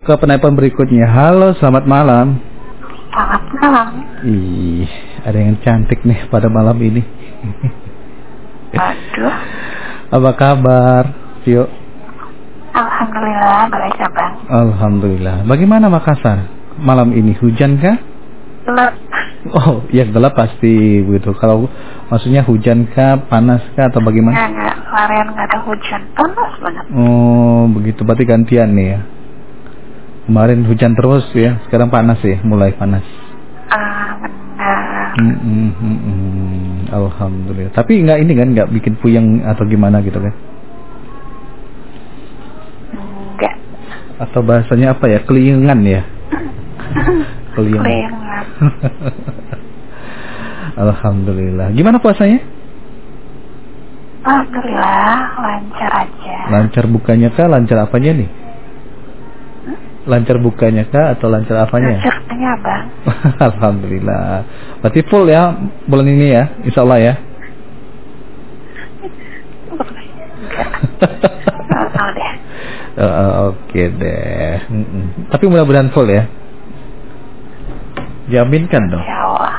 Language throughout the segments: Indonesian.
ke penelpon berikutnya. Halo, selamat malam. Selamat malam. Ih, ada yang cantik nih pada malam ini. Aduh. Apa kabar, Tio? Alhamdulillah, baik abang. Alhamdulillah. Bagaimana Makassar malam ini? Hujan kah? Gelap. Oh, ya gelap pasti begitu. Kalau maksudnya hujan kah, panas kah, atau bagaimana? Enggak, kemarin nggak ada hujan, panas banget. Oh, begitu. Berarti gantian nih ya. Kemarin hujan terus ya, sekarang panas ya, mulai panas. Benar. Alhamdulillah. Tapi nggak bikin puyeng atau gimana gitu kan? Enggak. Atau bahasanya apa ya? Keliengan ya? Keliengan. Alhamdulillah. Gimana puasanya? Alhamdulillah, lancar aja. Lancar bukanya kah? Lancar apanya nih? Lancar bukanya kah atau lancar apanya? Lancarnya abang. Alhamdulillah. Berarti full ya bulan ini ya, insya Allah ya. Nggak tahu deh. Oke deh. Tapi mudah-mudahan full ya. Jaminkan dong. Ya Allah.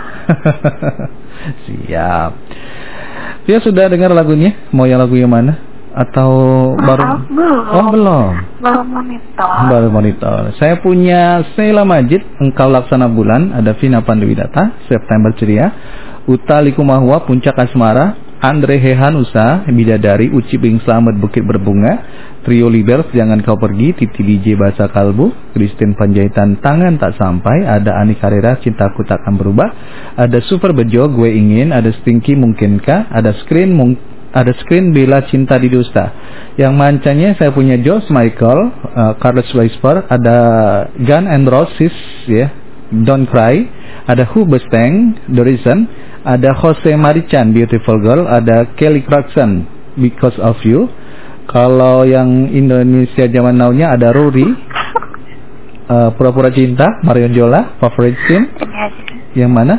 Siap. Dia sudah dengar lagunya? Mau yang lagu yang mana? Atau baru? Belum. Oh belum. Baru monitor. Baru monitor. Saya punya Sheila Majid, Engkau Laksana Bulan, ada Vina Panduwidata, September Ceria, Uta Likumahwa, Puncak Asmara, Andre Hehanusa, Bidadari, Uci Bing Slamet, Bukit Berbunga, Trio Libers, Jangan Kau Pergi, Titi DJ Bahasa Kalbu, Christine Panjaitan, Tangan Tak Sampai, ada Ani Karera, Cintaku Takkan Berubah, ada Super Bejo, Gue Ingin, ada Stinky Mungkinkah, ada Screen Bella Cinta di Dusta. Yang mancanya saya punya George Michael, Carlos Whisper, ada Gun and Roses ya, Don't Cry, ada Hubestang, The Reason, ada Jose Marichan, Beautiful Girl, ada Kelly Clarkson, Because of You. Kalau yang Indonesia zaman now-nya ada Rory, Pura-Pura Cinta, Marion Jola, Favorite Scene. Ini aja. Yang mana?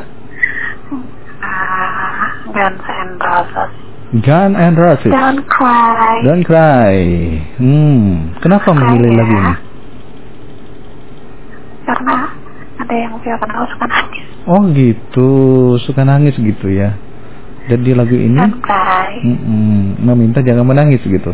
Guns and Roses. Gun and Roses. Don't Cry. Don't Cry. Kenapa memilih lagu ini? Karena ada yang aku suka nangis. Oh gitu, suka nangis gitu ya. Dan di lagu ini Don't Cry. meminta jangan menangis gitu.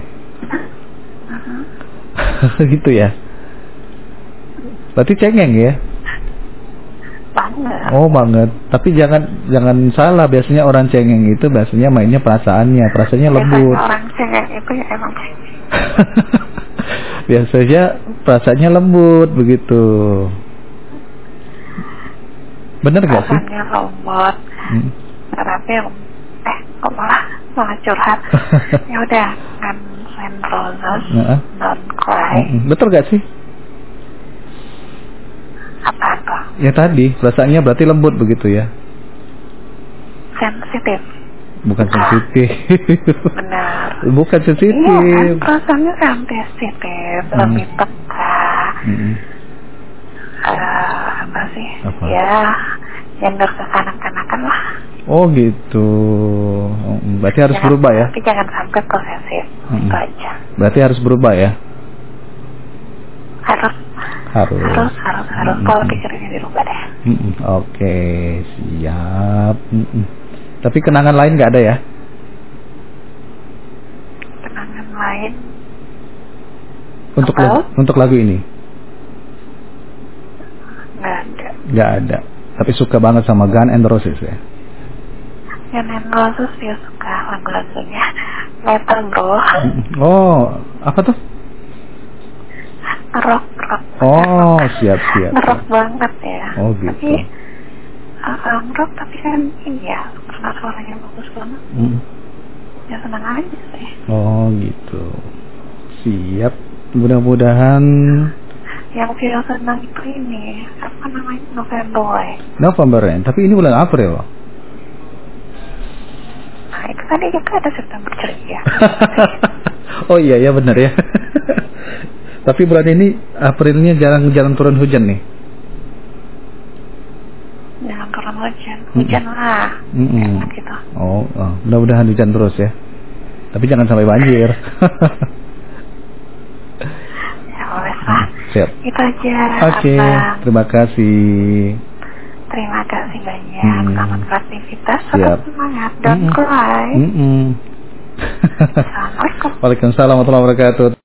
Gitu ya. Berarti cengeng ya? Banget. Oh banget. Tapi jangan salah, biasanya orang cengeng itu biasanya mainnya perasaannya lembut. Biasanya orang cengeng itu ya emang cengeng. Biasanya perasaannya lembut begitu. Bener gak sih? Perasaannya lembut. Tapi kok malah curhat. Ya udah, Guns and Roses, Don't Cry. Betul gak sih? Apa tuh? Ya tadi, perasaannya berarti lembut begitu ya? Sensitif. Bukan sensitif. Benar. Bukan sensitif. Iya kan, perasaannya sensitif, lebih peka. Apa sih? Apa? Ya, gender kekanak-kanakan lah. Oh gitu. Berarti harus berubah ya? Tapi jangan sampai posesif. Itu aja. Berarti harus berubah ya? Harus. Kalau pikirnya dirubah deh. Oke, siap. Tapi kenangan lain nggak ada ya? Kenangan lain untuk lagu ini? Nggak ada. Tapi suka banget sama Gun and Roses ya? Gun and Roses dia suka lagu-lagunya metal bro. Oh, apa tuh? Rock. Oh, siap. Rock banget ya. Oh gitu. Tapi rock tapi kan ini ya, karena suaranya bagus banget. Ya senang aja sih. Oh gitu. Siap. Mudah-mudahan. Yang video senang itu ini apa namanya, November ya. Tapi ini bulan April. Nah itu tadi juga ada September Ceria. Oh iya benar ya. Tapi bulan ini Aprilnya jarang turun hujan nih. Jangan turun hujan lah. Enak gitu. Oh, mudah-mudahan hujan terus ya. Tapi jangan sampai banjir. Ya wes lah. Siap. Itu aja. Oke, Abang. terima kasih. Terima kasih banyak. Selamat beraktivitas. Siap. Tetap semangat. Don't cry. Mm-mm. Assalamualaikum. Waalaikumsalam warahmatullahi wabarakatuh.